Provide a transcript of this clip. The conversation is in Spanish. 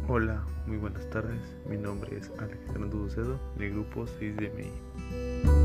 Hola, muy buenas tardes. Mi nombre es Alejandro Ducedo, del grupo 6 de MI.